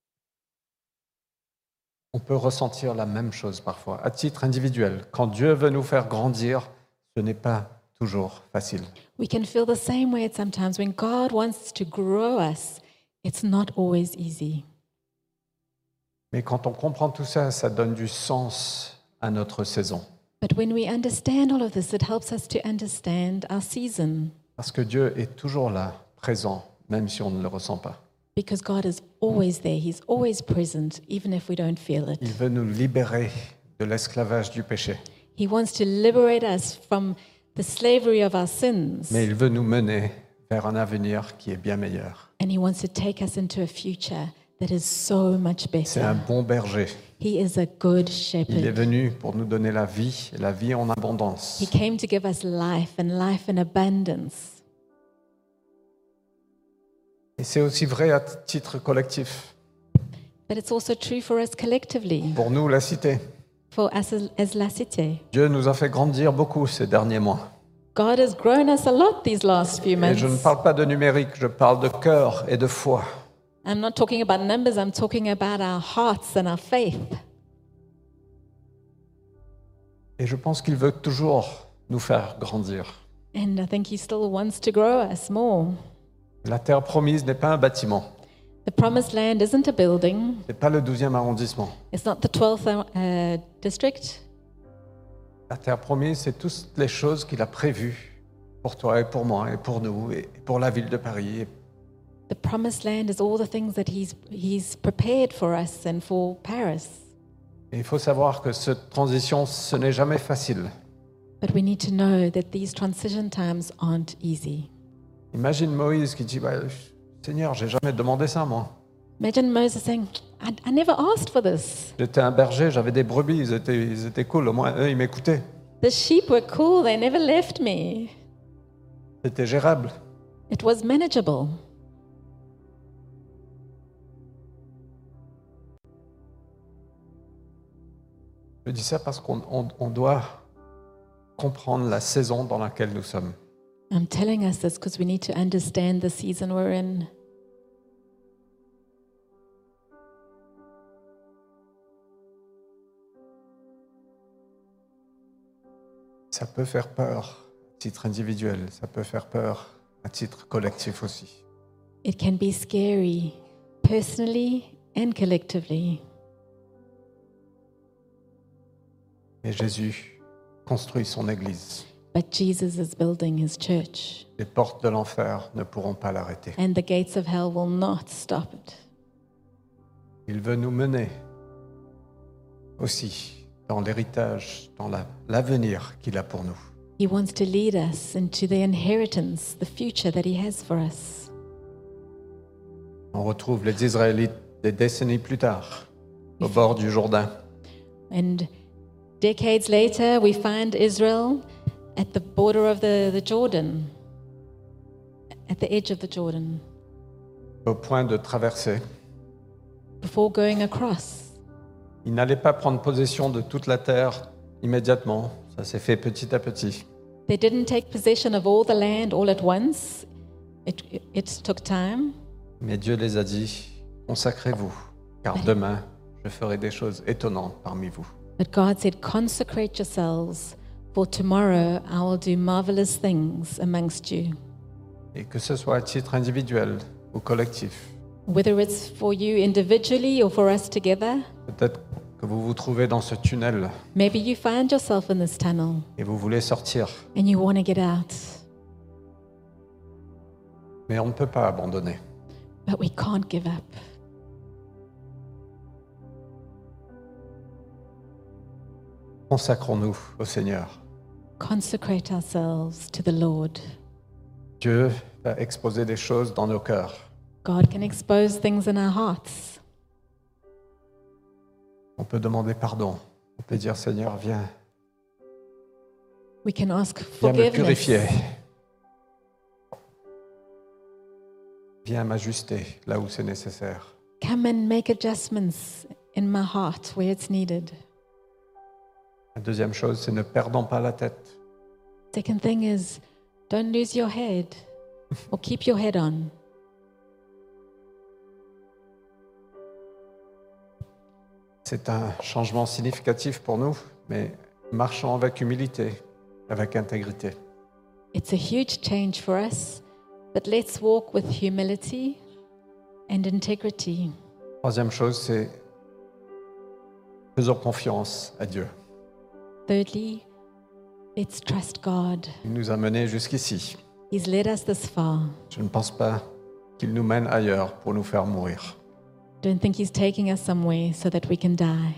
Speaker 1: On peut ressentir la même chose parfois, à titre individuel. Quand Dieu veut nous faire grandir, ce n'est pas toujours facile.
Speaker 2: We can feel the same way sometimes when God wants to grow us. It's not always easy.
Speaker 1: Mais quand on comprend tout ça, ça donne du sens à notre saison.
Speaker 2: But when we understand all of this, it helps us to understand our season
Speaker 1: Parce que Dieu est toujours là, présent, même si on ne le ressent pas.
Speaker 2: because God is always there. He's always present, even if we don't feel
Speaker 1: Il
Speaker 2: it.
Speaker 1: veut nous libérer de l'esclavage du péché.
Speaker 2: He wants to liberate us from the slavery of our sins,
Speaker 1: Mais il veut nous mener vers un avenir qui est bien meilleur.
Speaker 2: and He wants to take us into a future that is so much
Speaker 1: C'est un
Speaker 2: better.
Speaker 1: bon berger.
Speaker 2: He is a good
Speaker 1: Il est
Speaker 2: shepherd.
Speaker 1: venu pour nous donner la vie, et la vie en abondance.
Speaker 2: He came to give us life and life in abundance.
Speaker 1: Et c'est aussi vrai à titre collectif.
Speaker 2: But it's also true for us collectively,
Speaker 1: Pour nous, la cité,
Speaker 2: for us as, as La Cité.
Speaker 1: Dieu nous a fait grandir beaucoup ces derniers mois.
Speaker 2: God has grown us a lot these last few
Speaker 1: Et
Speaker 2: months.
Speaker 1: je ne parle pas de numérique, je parle de cœur et de foi.
Speaker 2: I'm not talking about numbers, I'm talking about our hearts and our faith.
Speaker 1: Et je pense qu'il veut toujours nous faire grandir.
Speaker 2: And I think He still wants to grow us more.
Speaker 1: La terre promise n'est pas un bâtiment,
Speaker 2: The promised land isn't a building,
Speaker 1: ce n'est pas le douzième arrondissement.
Speaker 2: it's not the twelfth uh, district.
Speaker 1: La terre promise, c'est toutes les choses qu'il a prévues pour toi et pour moi et pour nous et pour la ville de Paris.
Speaker 2: The promised land is all the things that He's, he's prepared for us and for Paris.
Speaker 1: Et il faut savoir que cette transition, ce n'est jamais facile.
Speaker 2: But we need to know that these transition times aren't easy.
Speaker 1: Imagine Moïse qui dit bah, Seigneur, j'ai jamais demandé ça, moi.
Speaker 2: Imagine Moses saying, I, I never asked for this.
Speaker 1: J'étais un berger, j'avais des brebis, ils étaient, ils étaient cool, au moins eux, ils m'écoutaient.
Speaker 2: The sheep were cool, they never left me.
Speaker 1: C'était gérable.
Speaker 2: It was manageable.
Speaker 1: Je dis ça parce qu'on on, on doit comprendre la saison dans laquelle nous sommes.
Speaker 2: I'm telling us this because we need to understand the season we're in.
Speaker 1: Ça peut faire peur à titre individuel, ça peut faire peur à titre collectif aussi.
Speaker 2: It can be scary, personally and collectively.
Speaker 1: Et Jésus construit son Église.
Speaker 2: But Jesus is building his church,
Speaker 1: Les portes de l'enfer ne pourront pas l'arrêter.
Speaker 2: and the gates of hell will not stop it.
Speaker 1: Il veut nous mener aussi dans l'héritage, dans la- l'avenir qu'il a pour nous.
Speaker 2: He wants to lead us into the inheritance, the future that he has for us.
Speaker 1: On retrouve les Israélites des décennies plus tard, au bord du Jourdain.
Speaker 2: And decades later, we find Israel at the border of the, the Jordan, at the edge of the Jordan,
Speaker 1: Au point de traverser.
Speaker 2: before going across.
Speaker 1: Ils n'allaient pas prendre possession de toute la terre immédiatement. Ça s'est fait petit à petit.
Speaker 2: They didn't take possession of all the land all at once. It, it, it took time.
Speaker 1: Mais Dieu les a dit, consacrez-vous, car demain, je ferai des choses étonnantes parmi vous.
Speaker 2: But God said, consecrate yourselves, for tomorrow I will do marvelous things amongst you.
Speaker 1: Et que ce soit à titre individuel ou collectif.
Speaker 2: Whether it's for you individually or for us together,
Speaker 1: Peut-être que vous vous trouvez dans ce tunnel
Speaker 2: maybe you find yourself in this tunnel
Speaker 1: et vous voulez sortir.
Speaker 2: and you want to get out,
Speaker 1: Mais on ne peut pas abandonner.
Speaker 2: but we can't give up.
Speaker 1: Consacrons-nous au Seigneur.
Speaker 2: Consecrate ourselves to the Lord.
Speaker 1: Dieu va exposer des choses dans nos cœurs.
Speaker 2: God can expose things in our hearts.
Speaker 1: On peut demander pardon. On peut dire, Seigneur, viens,
Speaker 2: We can ask
Speaker 1: viens me
Speaker 2: forgiveness.
Speaker 1: purifier. Viens m'ajuster là où c'est nécessaire.
Speaker 2: Come and make adjustments in my heart where it's needed.
Speaker 1: La deuxième chose, c'est ne perdons pas la tête.
Speaker 2: Second thing is, don't lose your head or keep your head on.
Speaker 1: C'est un changement significatif pour nous, mais marchons avec humilité, avec intégrité.
Speaker 2: It's a huge change for us, but let's walk with humility and integrity.
Speaker 1: Troisième chose, c'est faisons confiance à Dieu.
Speaker 2: Thirdly, let's trust God.
Speaker 1: Il nous a menés jusqu'ici.
Speaker 2: He's led us this far.
Speaker 1: Je ne pense pas qu'il nous mène ailleurs pour nous faire mourir.
Speaker 2: Don't think He's taking us somewhere so that we can die.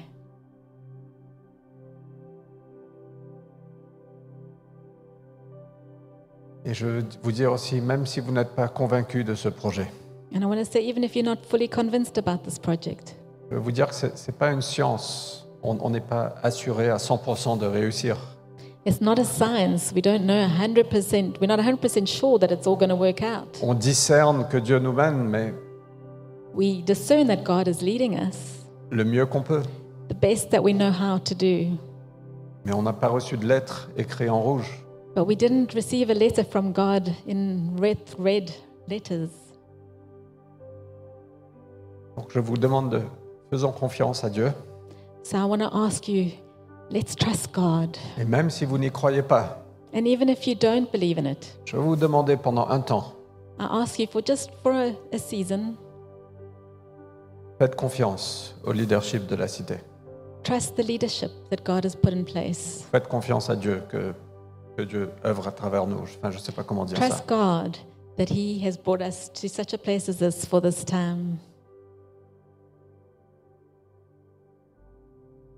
Speaker 1: Et je veux vous dire aussi, même si vous n'êtes pas convaincu de ce projet,
Speaker 2: And I want to say, even if you're not fully convinced about this project,
Speaker 1: je veux vous dire que ce n'est pas une science. On on n'est pas assuré à cent pour cent de réussir.
Speaker 2: it's not a science. We don't know one hundred percent. We're not one hundred percent sure that it's all going to work out.
Speaker 1: On discerne que Dieu nous mène, mais
Speaker 2: We discern that God is leading us
Speaker 1: le mieux qu'on peut.
Speaker 2: the best that we know how to do.
Speaker 1: Mais on n'a pas reçu de lettre écrite en rouge.
Speaker 2: But we didn't receive a letter from God in red, red letters.
Speaker 1: Donc je vous demande de faisons confiance à Dieu.
Speaker 2: So I want to ask you, let's trust God.
Speaker 1: Et même si vous n'y croyez pas,
Speaker 2: And even if you don't believe in it,
Speaker 1: je vais vous demander pendant un temps,
Speaker 2: I ask you for just for a, a season,
Speaker 1: faites confiance au leadership de la cité.
Speaker 2: trust the leadership that God has put in place.
Speaker 1: Faites confiance à Dieu que, que Dieu œuvre à travers nous. Enfin, je ne sais pas comment dire ça.
Speaker 2: Trust God that He has brought us to such a place as this for this time.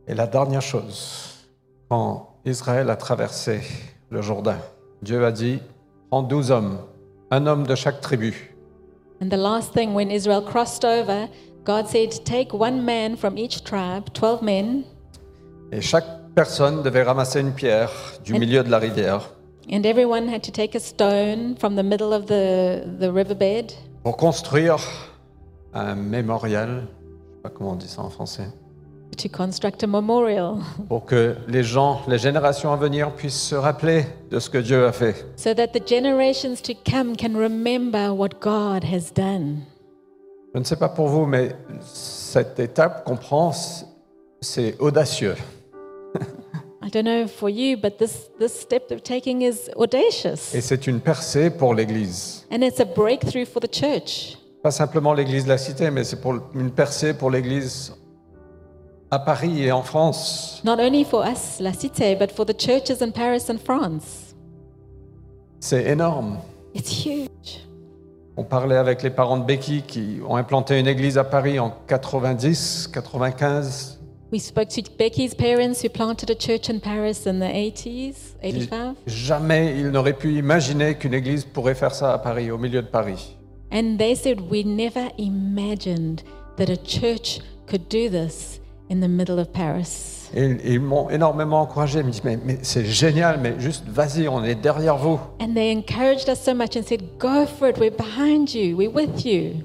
Speaker 1: Et la dernière chose, quand Israël a traversé le Jourdain, Dieu a dit, prends douze hommes, un homme de chaque tribu.
Speaker 2: And the last thing, when Israel crossed over, God said, take one man from each tribe, twelve men,
Speaker 1: Et chaque personne devait ramasser une pierre du milieu de la rivière
Speaker 2: and everyone had to take a stone from the middle of the, the riverbed
Speaker 1: pour construire un mémorial, je ne sais pas comment on dit ça en français,
Speaker 2: to construct a memorial,
Speaker 1: pour que les gens, les générations à venir puissent se rappeler de ce que Dieu a fait.
Speaker 2: so that the generations to come can remember what God has done.
Speaker 1: Je ne sais pas pour vous, mais cette étape qu'on prend, c'est audacieux.
Speaker 2: I don't know for you, but this, this step they're taking is audacious.
Speaker 1: Et c'est une percée pour l'Église.
Speaker 2: And it's a breakthrough for the church.
Speaker 1: Pas simplement l'Église de la Cité, mais c'est pour une percée pour l'Église à Paris et en France.
Speaker 2: Not only for us, La Cité, but for the churches in Paris and France.
Speaker 1: C'est énorme.
Speaker 2: It's huge.
Speaker 1: On parlait avec les parents de Becky qui ont implanté une église à Paris en quatre-vingt-dix, quatre-vingt-quinze.
Speaker 2: We spoke to Becky's parents who planted a church in Paris in the eighties, eighty-five.
Speaker 1: Jamais ils n'auraient pu imaginer qu'une église pourrait faire ça à Paris, au milieu de Paris.
Speaker 2: And they said, we never imagined that a church could do this in the middle of Paris.
Speaker 1: Et ils m'ont énormément encouragé. Ils me disent, mais, mais c'est génial, mais juste vas-y, on est derrière vous.
Speaker 2: And they encouraged us so much and said, go for it, we're behind you, we're with you.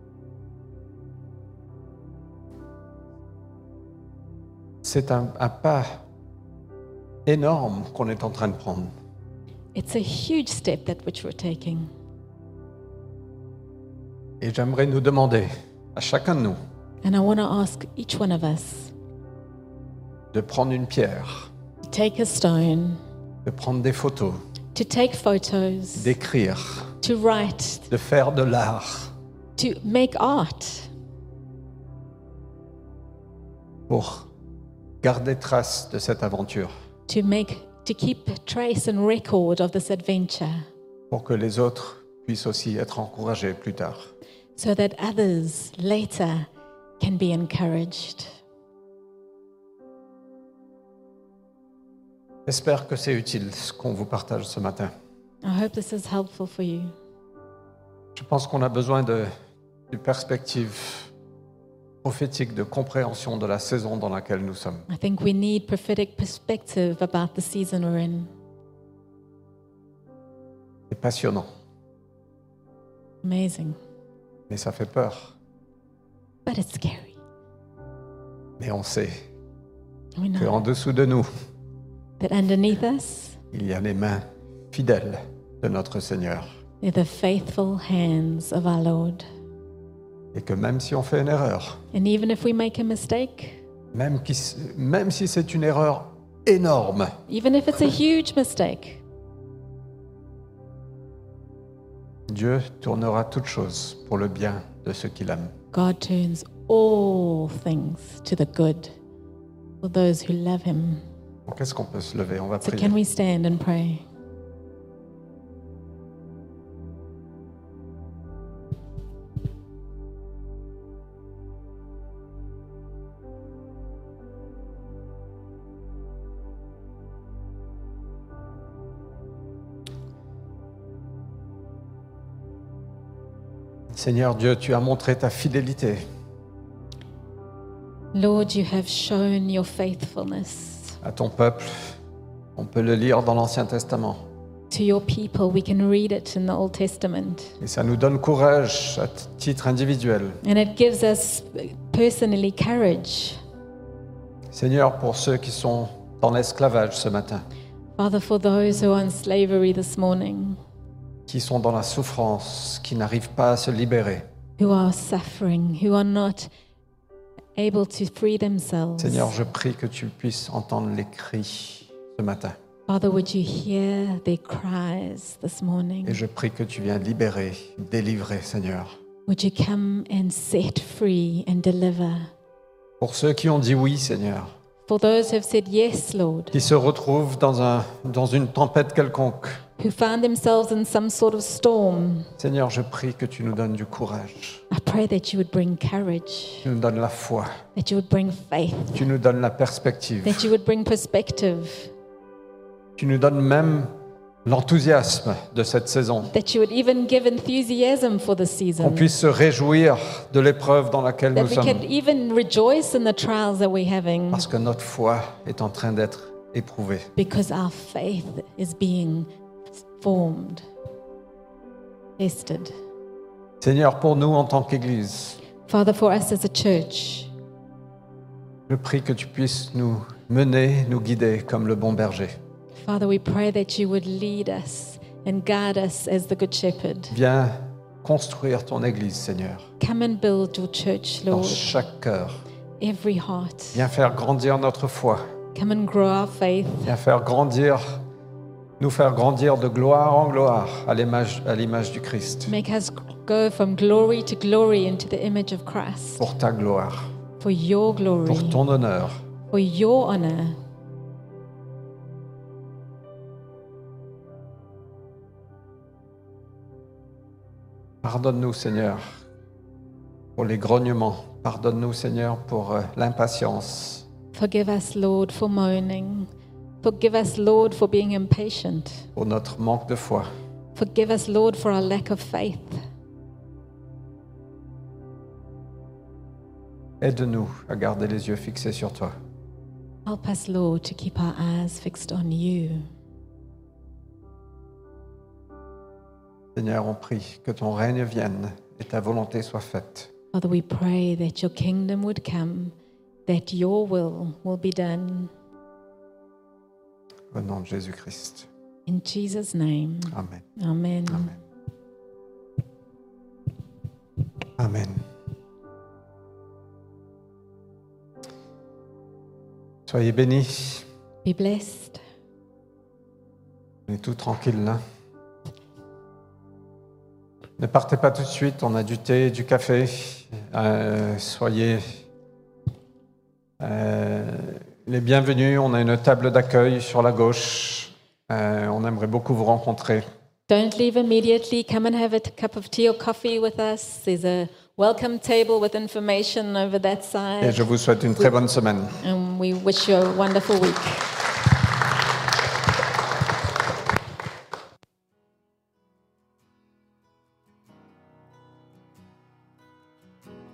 Speaker 1: C'est un, un pas énorme qu'on est en train de prendre.
Speaker 2: It's a huge step that which we're taking.
Speaker 1: Et j'aimerais nous demander, à chacun de nous,
Speaker 2: And I want to ask each one of us
Speaker 1: de prendre une pierre,
Speaker 2: to take a stone,
Speaker 1: de prendre des photos,
Speaker 2: to take photos,
Speaker 1: d'écrire,
Speaker 2: to write,
Speaker 1: de faire de l'art
Speaker 2: to make art,
Speaker 1: pour garder trace de cette aventure,
Speaker 2: to make, to keep trace and record of this adventure,
Speaker 1: pour que les autres puissent aussi être encouragés plus tard.
Speaker 2: so that others later can be encouraged.
Speaker 1: J'espère que c'est utile ce qu'on vous partage ce matin.
Speaker 2: I hope this is helpful for you.
Speaker 1: Je pense qu'on a besoin de, de perspective prophétique, de compréhension de la saison dans laquelle nous sommes.
Speaker 2: I think we need prophetic perspective about the season we're in.
Speaker 1: C'est passionnant,
Speaker 2: Amazing.
Speaker 1: mais ça fait peur.
Speaker 2: But it's scary.
Speaker 1: Mais on sait
Speaker 2: We know
Speaker 1: qu'en dessous de nous,
Speaker 2: that underneath us,
Speaker 1: il y a les mains fidèles de notre Seigneur.
Speaker 2: they're the faithful hands of our Lord.
Speaker 1: Et que même si on fait une erreur,
Speaker 2: And even if we make a mistake,
Speaker 1: même, qui, même si c'est une erreur énorme,
Speaker 2: even if it's a huge mistake,
Speaker 1: Dieu tournera toutes choses pour le bien de ceux qu'il aime.
Speaker 2: God turns all things to the good for those who love Him.
Speaker 1: Donc, est-ce qu'on peut se lever? On va
Speaker 2: So
Speaker 1: prier.
Speaker 2: can we stand and pray?
Speaker 1: Seigneur Dieu, tu as montré ta fidélité.
Speaker 2: Lord, you have shown your faithfulness
Speaker 1: À ton peuple, on peut le lire dans l'Ancien Testament.
Speaker 2: to your people. We can read it in the Old Testament.
Speaker 1: Et ça nous donne courage à titre individuel.
Speaker 2: And it gives us personally courage.
Speaker 1: Seigneur, pour ceux qui sont dans l'esclavage ce matin,
Speaker 2: Father, for those who are in slavery this morning,
Speaker 1: qui sont dans la souffrance, qui n'arrivent pas à se libérer.
Speaker 2: who are suffering, who are not able to free themselves.
Speaker 1: Seigneur, je prie que tu puisses entendre les cris ce matin.
Speaker 2: Father, would you hear their cries this morning?
Speaker 1: Et je prie que tu viennes libérer, délivrer, Seigneur.
Speaker 2: Would you come and set free and deliver?
Speaker 1: Pour ceux qui ont dit oui, Seigneur,
Speaker 2: For those who have said yes, Lord,
Speaker 1: qui se retrouvent dans, un, dans une tempête quelconque,
Speaker 2: who found themselves in some sort of storm,
Speaker 1: Seigneur, je prie que tu nous donnes du courage.
Speaker 2: I pray pray that you would bring courage,
Speaker 1: Tu nous donnes la foi.
Speaker 2: that you would bring faith,
Speaker 1: Tu nous donnes la perspective.
Speaker 2: that you would bring perspective,
Speaker 1: Tu nous donnes même l'enthousiasme de cette saison.
Speaker 2: that you would even give enthusiasm for the
Speaker 1: Qu'on
Speaker 2: season,
Speaker 1: puisse se réjouir de l'épreuve dans laquelle
Speaker 2: that
Speaker 1: nous
Speaker 2: we
Speaker 1: sommes.
Speaker 2: can even rejoice in the trials that we're having,
Speaker 1: Parce que notre foi est en train d'être éprouvée.
Speaker 2: because our faith is being formed, tested.
Speaker 1: Seigneur, pour nous en tant qu'Église,
Speaker 2: Father, for us as a church,
Speaker 1: je prie que tu puisses nous mener, nous guider comme le bon berger.
Speaker 2: Father, we pray that you would lead us and guide us as the Good Shepherd.
Speaker 1: Viens construire ton Église, Seigneur,
Speaker 2: Come and build your church,
Speaker 1: dans
Speaker 2: Lord,
Speaker 1: chaque cœur.
Speaker 2: every heart.
Speaker 1: Viens faire grandir notre foi.
Speaker 2: Come and grow our faith.
Speaker 1: Viens faire grandir, nous faire grandir de gloire en gloire à l'image, à l'image du Christ,
Speaker 2: Make us go from glory to glory into the image of Christ.
Speaker 1: pour ta gloire,
Speaker 2: For your glory,
Speaker 1: pour ton honneur.
Speaker 2: for your honor.
Speaker 1: Pardonne-nous, Seigneur, pour les grognements. Pardonne-nous, Seigneur, pour euh, l'impatience.
Speaker 2: Forgive us, Lord, for moaning. Forgive us, Lord, for being impatient.
Speaker 1: Pour notre manque de foi.
Speaker 2: Forgive us, Lord, for our lack of faith.
Speaker 1: Aide-nous à garder les yeux fixés sur toi.
Speaker 2: Help us, Lord, to keep our eyes fixed on you.
Speaker 1: Seigneur, on prie que ton règne vienne et ta volonté soit faite.
Speaker 2: Father, we pray that your kingdom would come, that your will will be done.
Speaker 1: Au nom de Jésus-Christ.
Speaker 2: In Jesus' name,
Speaker 1: Amen.
Speaker 2: amen.
Speaker 1: Amen. Amen. Soyez bénis.
Speaker 2: Be blessed.
Speaker 1: On est tout tranquille là. Ne partez pas tout de suite, on a du thé, du café. Euh, soyez euh, les bienvenus. On a une table d'accueil sur la gauche. Euh, on aimerait beaucoup vous rencontrer.
Speaker 2: Don't leave immediately. Come and have a t- cup of tea or coffee with us. There's a welcome table with information over that
Speaker 1: Et
Speaker 2: side.
Speaker 1: je vous souhaite une très bonne semaine.
Speaker 2: And we wish you a wonderful week.